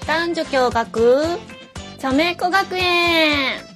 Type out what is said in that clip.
男女共学茶目子学園。